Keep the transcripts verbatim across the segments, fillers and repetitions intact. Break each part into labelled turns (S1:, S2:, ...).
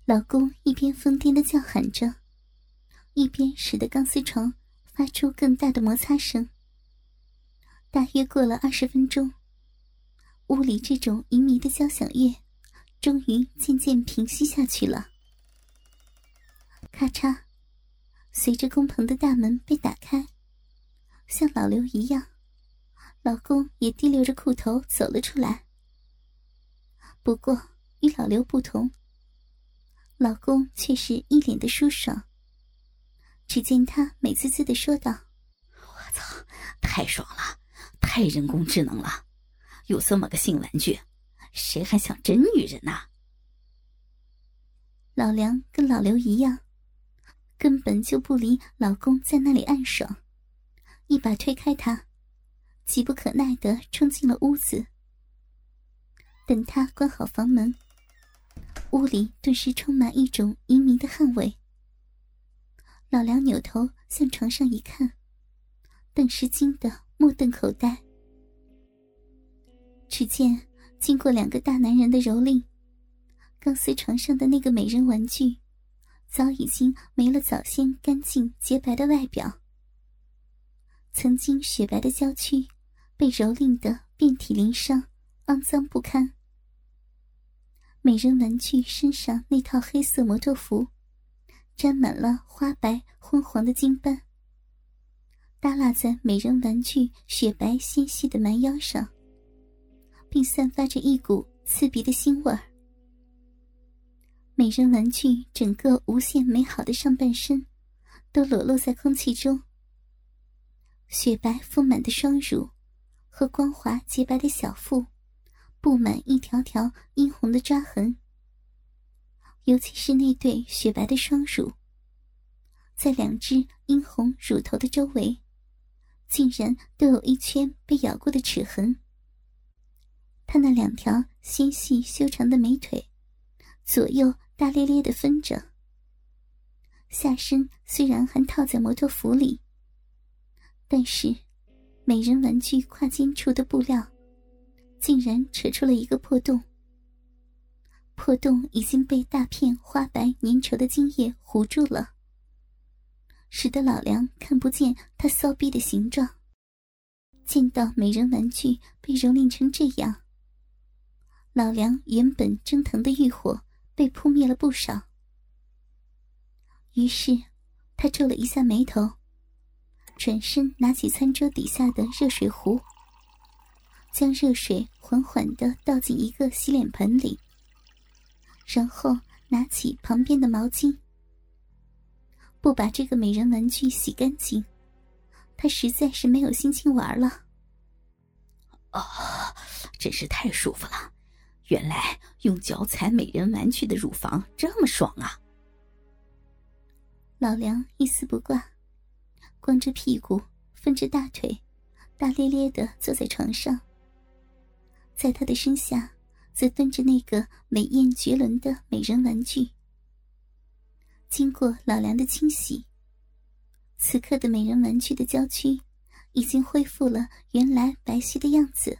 S1: 老公一边疯癫地叫喊着，一边使得钢丝床发出更大的摩擦声。大约过了二十分钟，屋里这种淫靡的交响乐终于渐渐平息下去了。咔嚓，随着工棚的大门被打开，像老刘一样，老公也提溜着裤头走了出来。不过与老刘不同，老公却是一脸的舒爽。只见他美滋滋地说道：
S2: 我操，太爽了，太人工智能了，有这么个性玩具，谁还想真女人啊？
S1: 老梁跟老刘一样，根本就不理老公在那里暗爽，一把推开他，急不可耐地冲进了屋子。等他关好房门，屋里顿时充满一种淫靡的汗味。老梁扭头向床上一看，顿时惊得目瞪口呆。只见经过两个大男人的蹂躏，钢丝床上的那个美人玩具早已经没了早先干净洁白的外表，曾经雪白的娇躯被蹂躏得遍体鳞伤，肮脏不堪。美人玩具身上那套黑色摩托服沾满了花白昏黄的金斑，耷拉在美人玩具雪白纤细的蛮腰上，并散发着一股刺鼻的腥味儿。美人玩具整个无限美好的上半身都裸露在空气中，雪白丰满的双乳和光滑洁白的小腹布满一条条殷红的抓痕，尤其是那对雪白的双乳，在两只殷红乳头的周围竟然都有一圈被咬过的齿痕。她那两条纤细修长的美腿左右大咧咧地分着，下身虽然还套在摩托服里，但是美人玩具胯间处的布料竟然扯出了一个破洞，破洞已经被大片花白粘稠的精液糊住了，使得老梁看不见他骚逼的形状。见到美人玩具被蹂躏成这样，老梁原本蒸腾的欲火被扑灭了不少。于是他皱了一下眉头，转身拿起餐桌底下的热水壶，将热水缓缓地倒进一个洗脸盆里，然后拿起旁边的毛巾。不把这个美人玩具洗干净，他实在是没有心情玩了。
S2: 哦，真是太舒服了，原来用脚踩美人玩具的乳房这么爽啊！
S1: 老梁一丝不挂，光着屁股分着大腿，大咧咧地坐在床上。在他的身下则蹲着那个美艳绝伦的美人玩具。经过老梁的清洗，此刻的美人玩具的娇躯已经恢复了原来白皙的样子。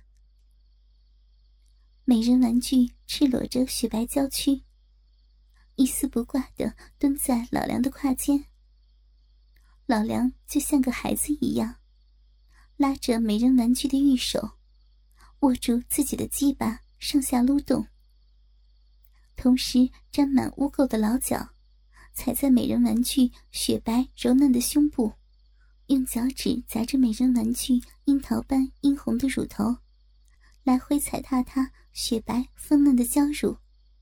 S1: 美人玩具赤裸着雪白娇躯，一丝不挂地蹲在老梁的胯间。老梁就像个孩子一样，拉着美人玩具的玉手，握住自己的鸡巴上下撸动，同时沾满污垢的老脚踩在美人玩具雪白柔嫩的胸部，用脚趾夹着美人玩具樱桃般殷红的乳头，来回踩踏她雪白丰嫩的娇乳。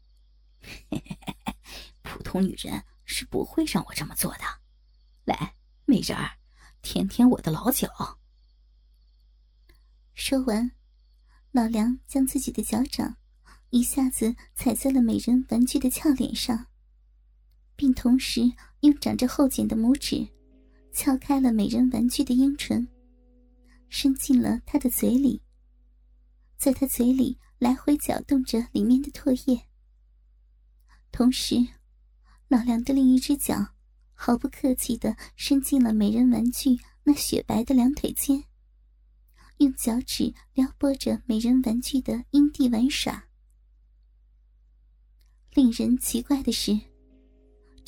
S2: 普通女人是不会让我这么做的，来，美人儿，舔舔我的老脚。
S1: 说完，老梁将自己的脚掌一下子踩在了美人玩具的俏脸上，并同时用长着后茧的拇指撬开了美人玩具的阴唇，伸进了她的嘴里，在她嘴里来回搅动着里面的唾液。同时，老梁的另一只脚毫不客气地伸进了美人玩具那雪白的两腿间，用脚趾撩拨着美人玩具的阴蒂玩耍。令人奇怪的是，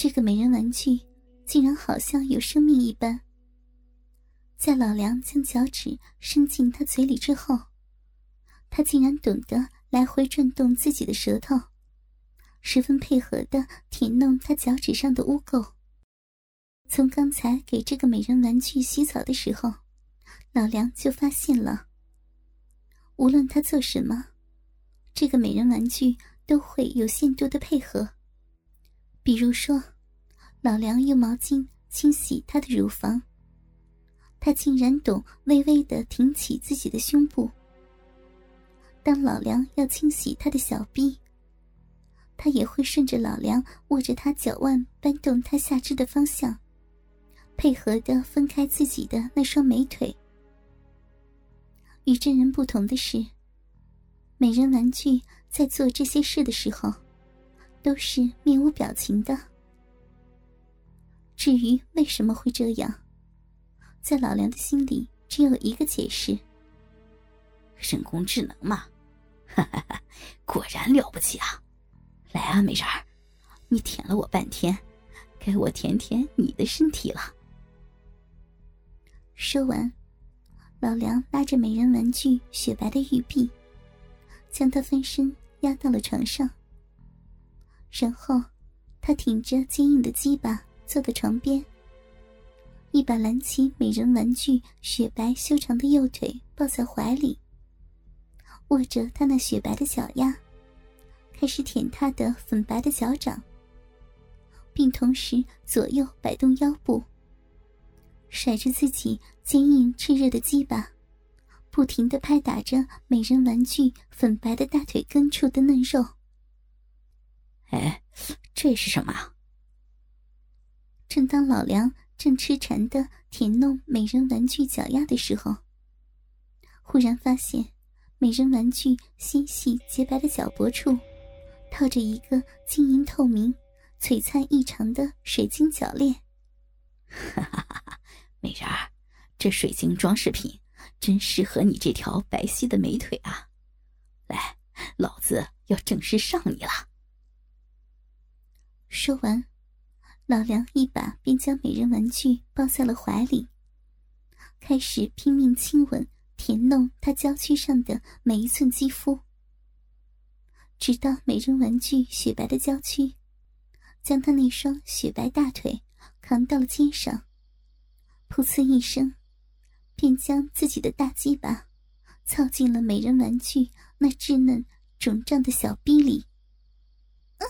S1: 这个美人玩具竟然好像有生命一般。在老梁将脚趾伸进他嘴里之后，他竟然懂得来回转动自己的舌头，十分配合地舔弄他脚趾上的污垢。从刚才给这个美人玩具洗澡的时候，老梁就发现了，无论他做什么，这个美人玩具都会有限度的配合。比如说，老梁用毛巾清洗他的乳房，他竟然懂微微地挺起自己的胸部。当老梁要清洗他的小臂，他也会顺着老梁握着他脚腕搬动他下肢的方向，配合地分开自己的那双美腿。与真人不同的是，美人玩具在做这些事的时候都是面无表情的。至于为什么会这样，在老梁的心里只有一个解释：
S2: 人工智能嘛，哈哈哈，果然了不起啊！来啊，美人儿，你舔了我半天，该我舔舔你的身体了。
S1: 说完，老梁拉着美人玩具雪白的玉臂，将她翻身压到了床上。然后他挺着坚硬的鸡巴坐在床边，一把揽起美人玩具雪白修长的右腿抱在怀里，握着她那雪白的脚丫，开始舔她的粉白的脚掌，并同时左右摆动腰部，甩着自己坚硬炽热的鸡巴，不停地拍打着美人玩具粉白的大腿根处的嫩肉。
S2: 哎，这是什么啊？
S1: 正当老梁正痴缠地舔弄美人玩具脚丫的时候，忽然发现美人玩具纤细洁白的脚脖处套着一个晶莹透明、璀璨异常的水晶脚链。
S2: 哈哈哈！美人儿，这水晶装饰品真适合你这条白皙的美腿啊！来，老子要正式上你了。
S1: 说完，老梁一把便将美人玩具抱在了怀里，开始拼命亲吻舔弄她娇躯上的每一寸肌肤，直到美人玩具雪白的娇躯将她那双雪白大腿扛到了肩上，噗呲一声，便将自己的大鸡巴操进了美人玩具那稚嫩肿胀的小逼里。啊，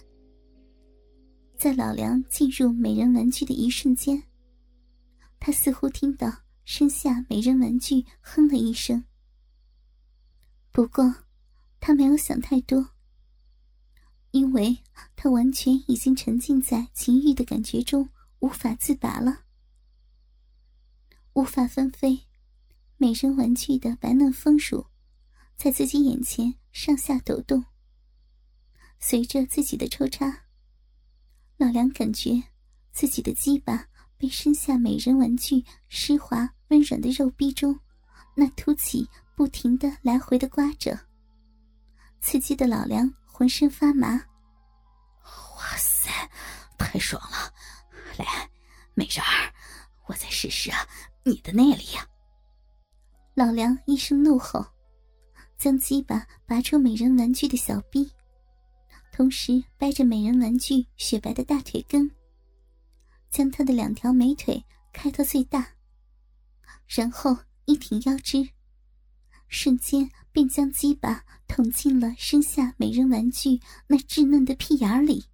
S1: 在老梁进入美人玩具的一瞬间，他似乎听到身下美人玩具哼了一声。不过他没有想太多，因为他完全已经沉浸在情欲的感觉中，无法自拔了。无法纷飞，美人玩具的白嫩丰乳在自己眼前上下抖动。随着自己的抽插，老梁感觉自己的鸡巴被身下美人玩具湿滑温软的肉壁中那凸起不停地来回地刮着，刺激的老梁浑身发麻。
S2: 哇塞，太爽了！来，美人儿，我再试试啊你的内力呀！
S1: 老梁一声怒吼，将鸡巴拔出美人玩具的小臂，同时掰着美人玩具雪白的大腿根，将她的两条美腿开到最大，然后一挺腰肢，瞬间便将鸡巴捅进了身下美人玩具那稚嫩的屁眼里。